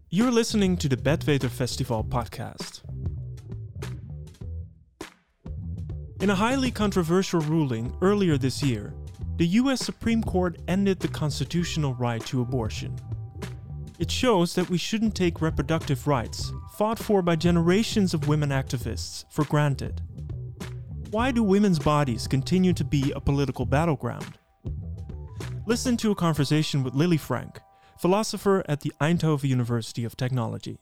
You're listening to the Bedweter Festival podcast. In a highly controversial ruling earlier this year, the US Supreme Court ended the constitutional right to abortion. It shows that we shouldn't take reproductive rights, fought for by generations of women activists, for granted. Why do women's bodies continue to be a political battleground? Listen to a conversation with Lily Frank, philosopher at the Eindhoven University of Technology.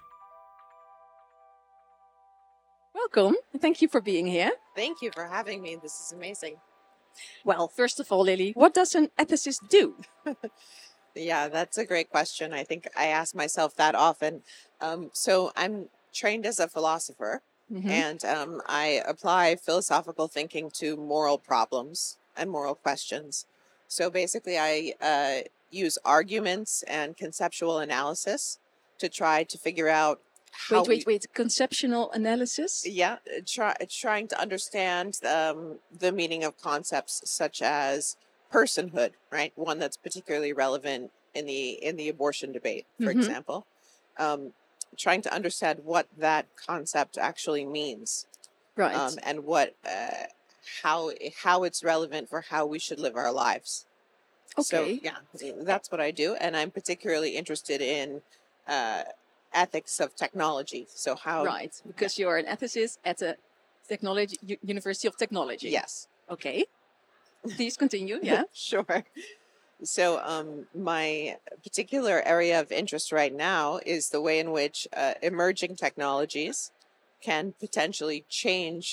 Welcome. Thank you for being here. Thank you for having me. This is amazing. Well, first of all, Lily, what does an ethicist do? Yeah, that's a great question. I think I ask myself that often. So I'm trained as a philosopher, and I apply philosophical thinking to moral problems and moral questions. So basically, I use arguments and conceptual analysis to try to figure out how Wait. Conceptual analysis? Yeah, trying to understand the meaning of concepts such as personhood, right? One that's particularly relevant in the abortion debate, for example. Trying to understand what that concept actually means, Right. and what how it's relevant for how we should live our lives. Okay. So yeah, that's what I do, and I'm particularly interested in ethics of technology. So how? Right, because you're an ethicist at the University of Technology. Yes. Okay. Please continue. Yeah. Sure. So my particular area of interest right now is the way in which emerging technologies can potentially change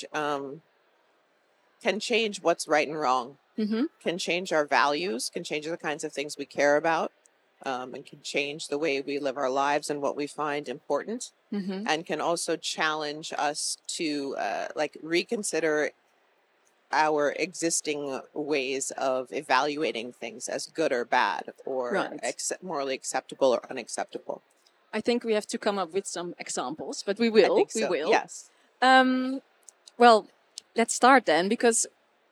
what's right and wrong, can change our values, can change the kinds of things we care about, and can change the way we live our lives and what we find important, and can also challenge us to reconsider our existing ways of evaluating things as good or bad, or morally acceptable or unacceptable. I think we have to come up with some examples, but we will. I think so. We will. Yes. Well, let's start then, because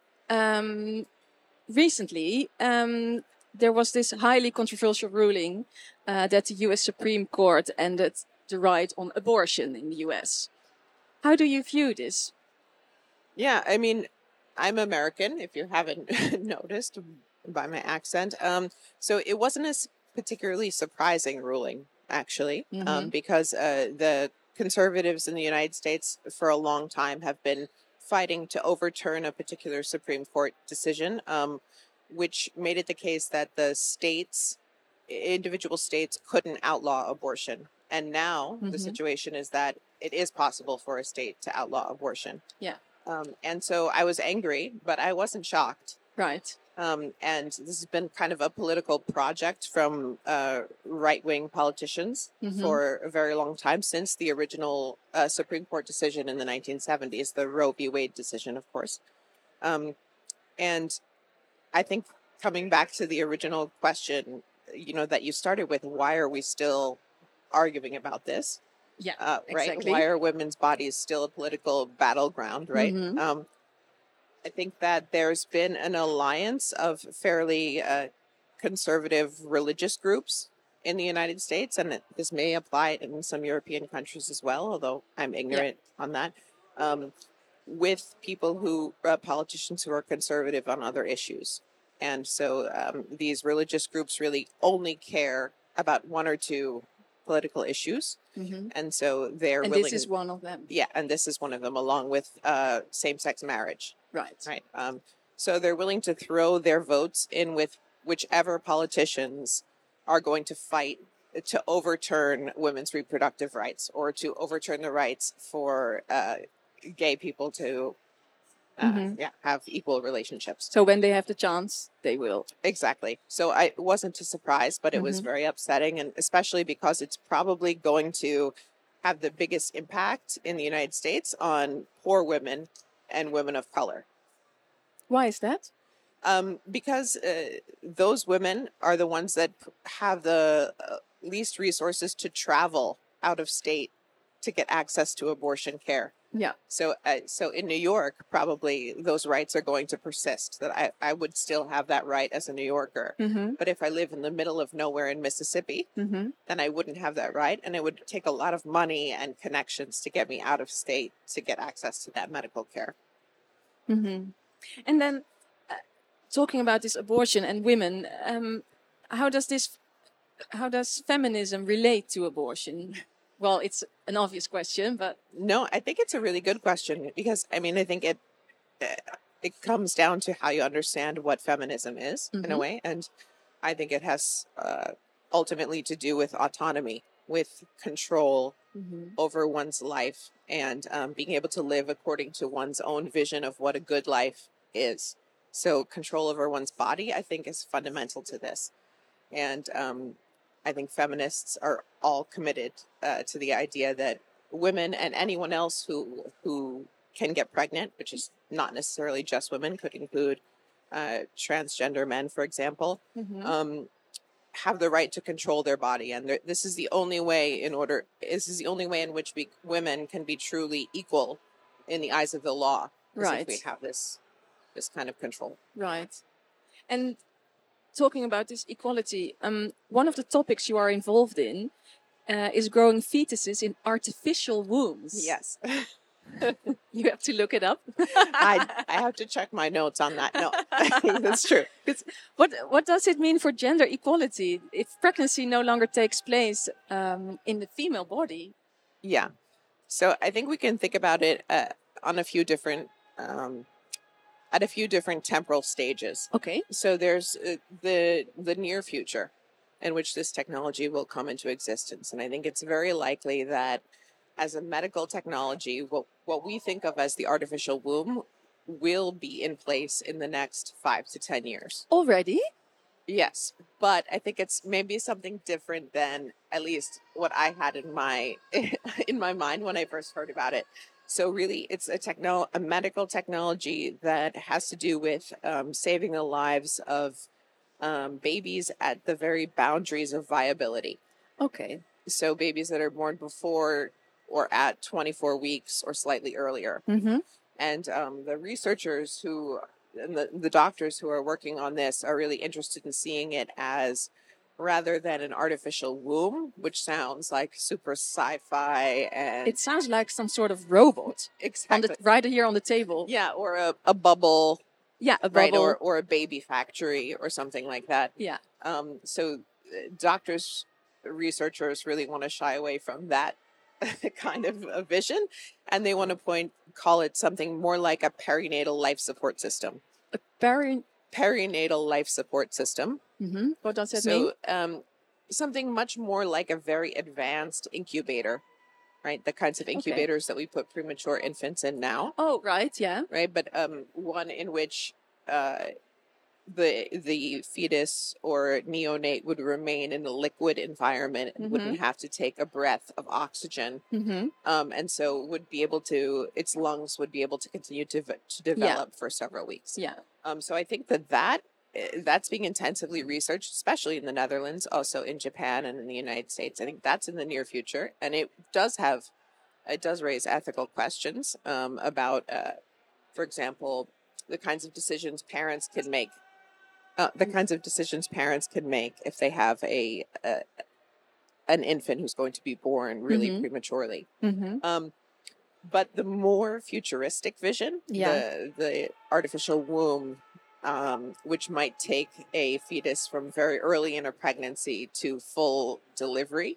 recently there was this highly controversial ruling that the US Supreme Court ended the right on abortion in the US. How do you view this? Yeah, I mean, I'm American, if you haven't noticed by my accent. So it wasn't a particularly surprising ruling, actually, because the conservatives in the United States for a long time have been fighting to overturn a particular Supreme Court decision, which made it the case that the individual states couldn't outlaw abortion. And now the situation is that it is possible for a state to outlaw abortion. Yeah. And so I was angry, but I wasn't shocked. Right. And this has been kind of a political project from right-wing politicians for a very long time, since the original Supreme Court decision in the 1970s, the Roe v. Wade decision, of course. And I think coming back to the original question, that you started with, why are we still arguing about this? Yeah, right. exactly. Why are women's bodies still a political battleground, right? I think that there's been an alliance of fairly conservative religious groups in the United States, and this may apply in some European countries as well, although I'm ignorant on that, with people politicians who are conservative on other issues. And so these religious groups really only care about one or two political issues. And so they're willing. And this is one of them. Yeah, and this is one of them, along with same-sex marriage. Right. Right. So they're willing to throw their votes in with whichever politicians are going to fight to overturn women's reproductive rights, or to overturn the rights for gay people to have equal relationships. So when they have the chance, they will. Exactly. So it wasn't a surprise, but it was very upsetting, and especially because it's probably going to have the biggest impact in the United States on poor women and women of color. Why is that? Because those women are the ones that have the least resources to travel out of state to get access to abortion care. Yeah. So in New York, probably those rights are going to persist. That I would still have that right as a New Yorker. But if I live in the middle of nowhere in Mississippi, then I wouldn't have that right, and it would take a lot of money and connections to get me out of state to get access to that medical care. And then, talking about this abortion and women, how does feminism relate to abortion? Well, it's an obvious question, but No, I think it's a really good question because I mean I think it comes down to how you understand what feminism is in a way, and I think it has ultimately to do with autonomy, with control over one's life, and being able to live according to one's own vision of what a good life is. So control over one's body, I think, is fundamental to this. And I think feminists are all committed to the idea that women and anyone else who can get pregnant, which is not necessarily just women, could include transgender men, for example, have the right to control their body. And this is the only way in which women can be truly equal in the eyes of the law. Right. If we have this kind of control. Right. And talking about this equality, one of the topics you are involved in is growing fetuses in artificial wombs. Yes. You have to look it up. I have to check my notes on that. No, I think that's true. What does it mean for gender equality if pregnancy no longer takes place in the female body? Yeah. So I think we can think about it on a few different at a few different temporal stages. Okay. So there's the near future in which this technology will come into existence. And I think it's very likely that as a medical technology, what we think of as the artificial womb will be in place in the next 5 to 10 years. Already? Yes. But I think it's maybe something different than at least what I had in my mind when I first heard about it. So really, it's a medical technology that has to do with saving the lives of babies at the very boundaries of viability. Okay. So babies that are born before or at 24 weeks or slightly earlier. And the researchers and the doctors who are working on this are really interested in seeing it as, rather than an artificial womb, which sounds like super sci-fi, and it sounds like some sort of robot. Exactly. Right here on the table. Yeah, or a bubble. Yeah, a bubble. Right, or a baby factory or something like that. Yeah. So researchers really want to shy away from that kind of a vision, and they want to call it something more like a perinatal life support system. A perinatal life support system. What does that mean? So something much more like a very advanced incubator, right? The kinds of incubators that we put premature infants in now. Oh, right, yeah. Right, but one in which the fetus or neonate would remain in a liquid environment and wouldn't have to take a breath of oxygen, and so its lungs would be able to continue to develop for several weeks. Yeah. So I think that's being intensively researched, especially in the Netherlands, also in Japan and in the United States. I think that's in the near future, and it does raise ethical questions about, for example, the kinds of decisions parents can make. If they have an infant who's going to be born really prematurely. But the more futuristic vision, the artificial womb, which might take a fetus from very early in a pregnancy to full delivery,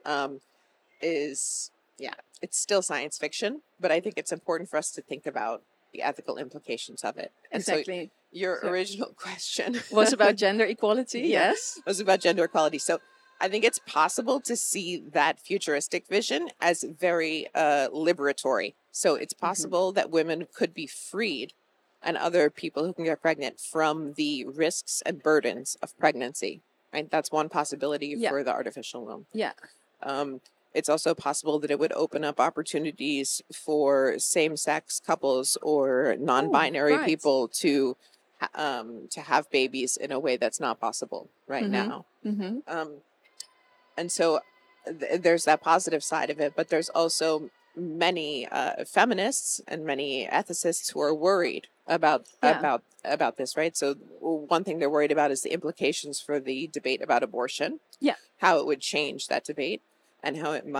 it's still science fiction, but I think it's important for us to think about the ethical implications of it. And exactly. So your original question was about gender equality. Yes. Was about gender equality. So I think it's possible to see that futuristic vision as very liberatory. So it's possible that women could be freed, and other people who can get pregnant, from the risks and burdens of pregnancy. Right? That's one possibility for the artificial womb. Yeah. It's also possible that it would open up opportunities for same-sex couples or non-binary people to have babies in a way that's not possible right now. And so there's that positive side of it, but there's also many feminists and many ethicists who are worried about this, right? So one thing they're worried about is the implications for the debate about abortion. Yeah. How it would change that debate, and how it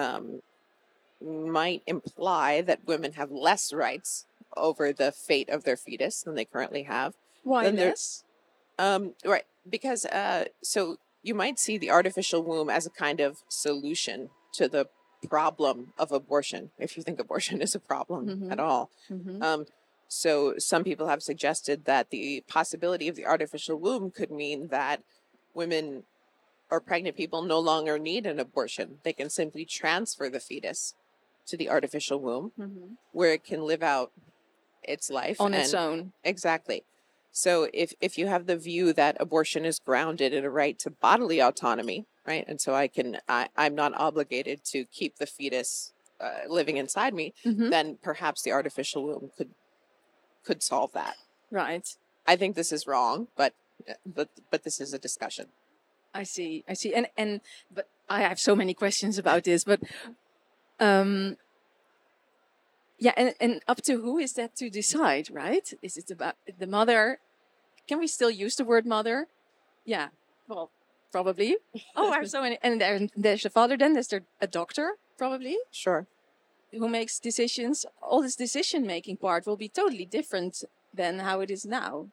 might imply that women have less rights over the fate of their fetus than they currently have. Why less? Right, because so you might see the artificial womb as a kind of solution to the problem of abortion, if you think abortion is a problem at all. So some people have suggested that the possibility of the artificial womb could mean that women or pregnant people no longer need an abortion. They can simply transfer the fetus to the artificial womb, where it can live out its life on its own. Exactly. So if you have the view that abortion is grounded in a right to bodily autonomy, right, and so I'm not obligated to keep the fetus living inside me, then perhaps the artificial womb could solve that. Right. I think this is wrong, but this is a discussion. I see. And but I have so many questions about this, but yeah, and up to who is that to decide, right? Is it about the mother? Can we still use the word mother? Yeah, well, probably. Oh, I have so many. And there's the father, then there's a doctor, probably. Sure. Who makes decisions. All this decision-making part will be totally different than how it is now.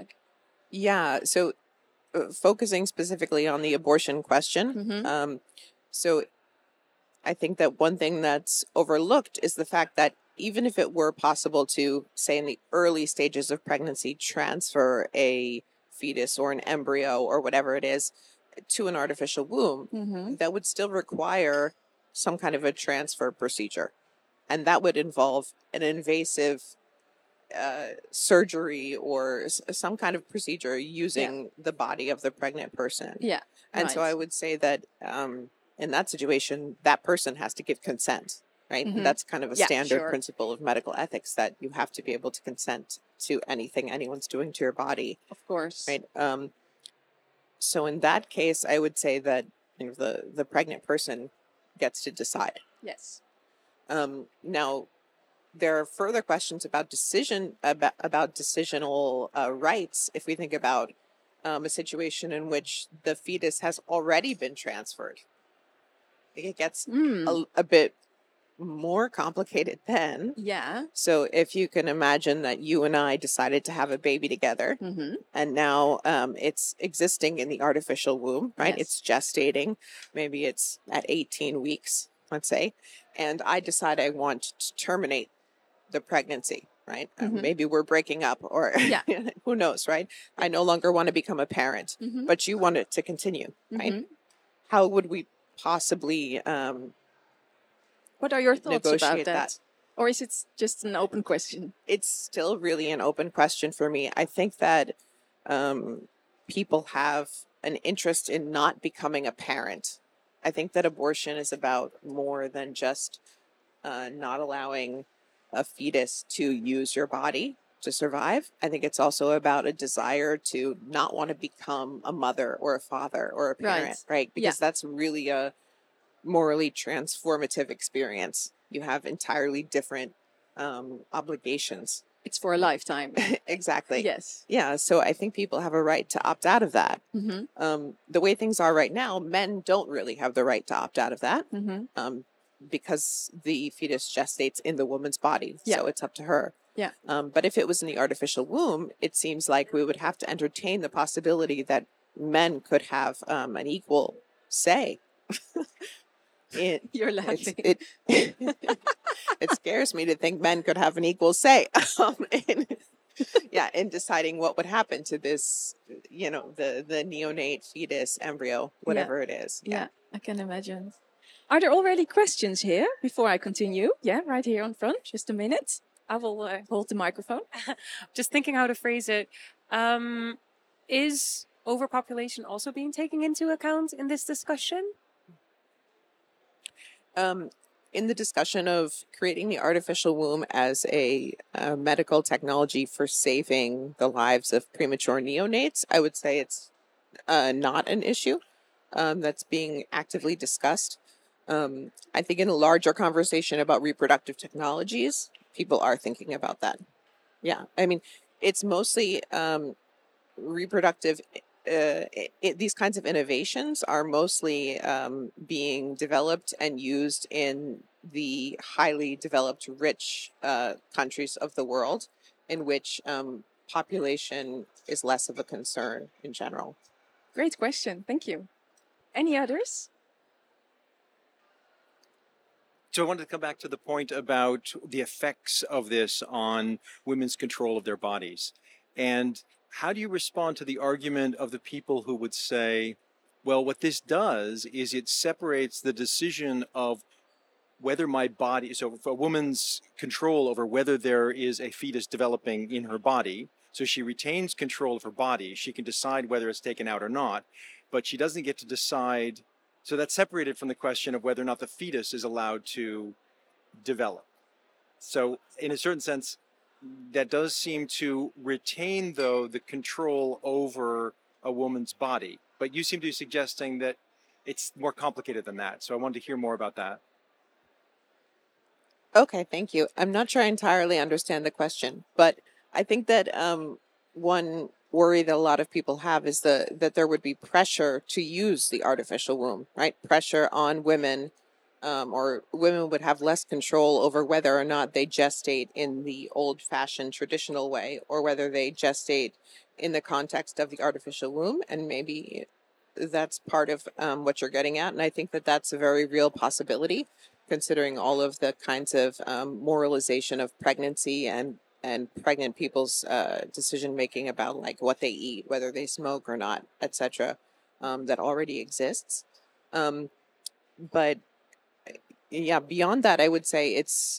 Yeah, so focusing specifically on the abortion question, so I think that one thing that's overlooked is the fact that even if it were possible to, say, in the early stages of pregnancy, transfer a fetus or an embryo or whatever it is to an artificial womb, that would still require some kind of a transfer procedure. And that would involve an invasive surgery or some kind of procedure using the body of the pregnant person. Yeah. And so I would say that in that situation, that person has to give consent, right? That's kind of a standard principle of medical ethics, that you have to be able to consent to anything anyone's doing to your body. Of course. Right. So in that case, I would say that the pregnant person gets to decide. Yes. Now, there are further questions about decisional rights. If we think about a situation in which the fetus has already been transferred, it gets a bit more complicated then. Yeah. So if you can imagine that you and I decided to have a baby together, and now it's existing in the artificial womb, right? Yes. It's gestating. Maybe it's at 18 weeks, let's say, and I decide I want to terminate the pregnancy, right? Maybe we're breaking up, or who knows, right? I no longer want to become a parent, but you want it to continue, right? How would we possibly what are your thoughts about that? that? Or is it just an open question? It's still really an open question for me. I think that people have an interest in not becoming a parent. I think that abortion is about more than just not allowing a fetus to use your body to survive. I think it's also about a desire to not want to become a mother or a father or a parent, right? Because that's really a morally transformative experience. You have entirely different obligations. It's for a lifetime. Exactly. Yes. Yeah. So I think people have a right to opt out of that. The way things are right now, men don't really have the right to opt out of that. Because the fetus gestates in the woman's body. So it's up to her. Yeah. But if it was in the artificial womb, it seems like we would have to entertain the possibility that men could have an equal say. You're laughing. It scares me to think men could have an equal say in deciding what would happen to this, the neonate fetus, embryo, whatever it is. Yeah, I can imagine. Are there already questions here before I continue? Yeah, right here on front. Just a minute. I will hold the microphone. Just thinking how to phrase it. Is overpopulation also being taken into account in this discussion? In the discussion of creating the artificial womb as a medical technology for saving the lives of premature neonates, I would say it's not an issue that's being actively discussed. I think in a larger conversation about reproductive technologies, people are thinking about that. Yeah, I mean, it's mostly reproductive. These kinds of innovations are mostly being developed and used in the highly developed, rich countries of the world, in which population is less of a concern in general. Great question. Thank you. Any others? So I wanted to come back to the point about the effects of this on women's control of their bodies. And how do you respond to the argument of the people who would say, well, what this does is it separates the decision of whether my body, so for a woman's control over whether there is a fetus developing in her body, so she retains control of her body, she can decide whether it's taken out or not, but she doesn't get to decide. So that's separated from the question of whether or not the fetus is allowed to develop. So in a certain sense, that does seem to retain, though, the control over a woman's body. But you seem to be suggesting that it's more complicated than that. So I wanted to hear more about that. Okay, thank you. I'm not sure I entirely understand the question, but I think that one worry that a lot of people have is that there would be pressure to use the artificial womb, right? Pressure on women, or women would have less control over whether or not they gestate in the old-fashioned traditional way, or whether they gestate in the context of the artificial womb. And maybe that's part of what you're getting at. And I think that that's a very real possibility, considering all of the kinds of moralization of pregnancy and pregnant people's decision making about like what they eat, whether they smoke or not, etc., that already exists. But yeah, beyond that, I would say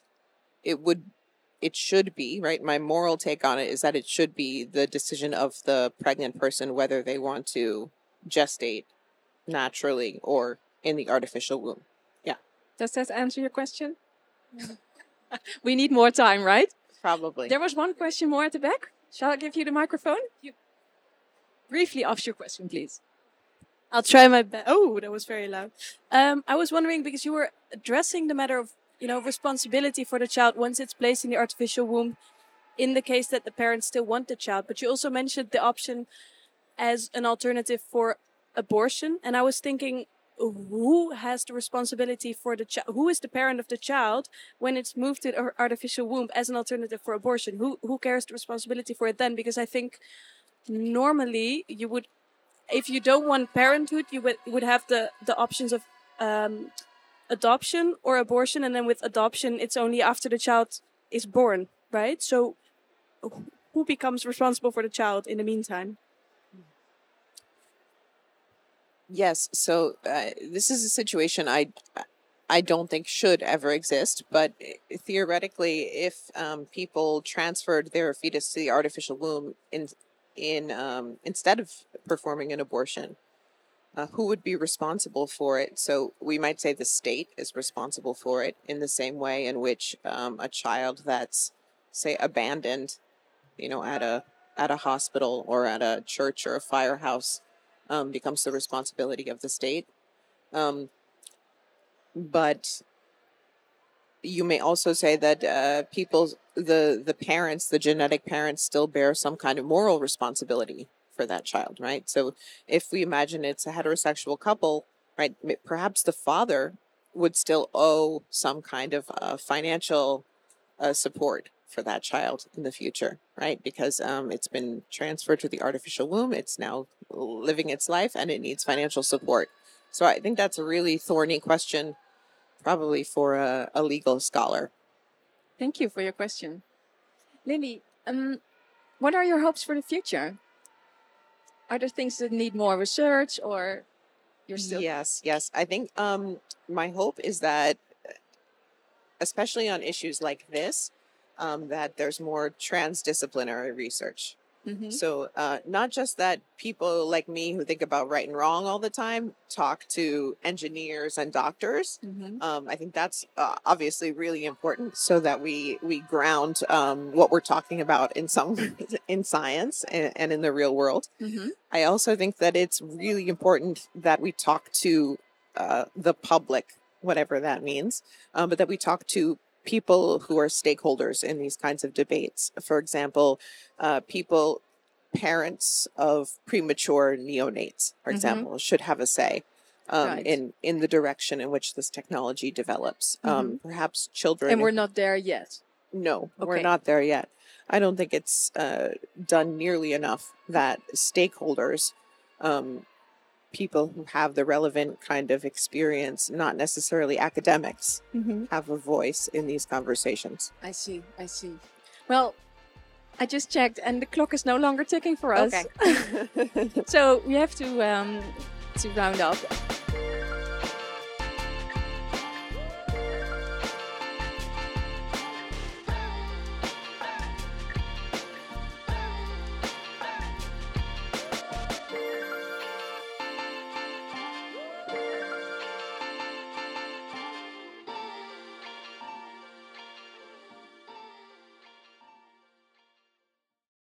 it should be, right? My moral take on it is that it should be the decision of the pregnant person whether they want to gestate naturally or in the artificial womb. Yeah. Does that answer your question? We need more time, right? Probably. There was one question more at the back. Shall I give you the microphone? You briefly ask your question, please. I'll try my best. Oh, that was very loud. I was wondering, because you were addressing the matter of, responsibility for the child once it's placed in the artificial womb, in the case that the parents still want the child. But you also mentioned the option as an alternative for abortion. And I was thinking, who has the responsibility for the child? Who is the parent of the child when it's moved to the artificial womb as an alternative for abortion? Who carries the responsibility for it then? Because I think normally you would, if you don't want parenthood, you would have the options of adoption or abortion. And then with adoption, it's only after the child is born, right? So who becomes responsible for the child in the meantime? Yes, so this is a situation I don't think should ever exist, but theoretically, if people transferred their fetus to the artificial womb instead of performing an abortion, who would be responsible for it? So we might say the state is responsible for it in the same way in which a child that's, say, abandoned, at a hospital or at a church or a firehouse, becomes the responsibility of the state. But you may also say that the parents, the genetic parents, still bear some kind of moral responsibility for that child, right? So if we imagine it's a heterosexual couple, right, perhaps the father would still owe some kind of financial support for that child in the future, right? Because it's been transferred to the artificial womb. It's now living its life and it needs financial support. So I think that's a really thorny question, probably for a legal scholar. Thank you for your question. Lily, what are your hopes for the future? Are there things that need more research, or you're still... Yes. I think my hope is that, especially on issues like this, that there's more transdisciplinary research. Mm-hmm. So not just that people like me who think about right and wrong all the time talk to engineers and doctors. Mm-hmm. I think that's obviously really important, so that we ground what we're talking about in science and in the real world. Mm-hmm. I also think that it's really important that we talk to the public whatever that means, but that we talk to people who are stakeholders in these kinds of debates. For example, parents of premature neonates, for example, should have a say Right. in the direction in which this technology develops. Perhaps children. And we're not there yet. No, we're Okay. not there yet. I don't think it's done nearly enough that stakeholders, people who have the relevant kind of experience, not necessarily academics, have a voice in these conversations. I see. I see. Well, I just checked, and the clock is no longer ticking for us. Okay. So we have to round up.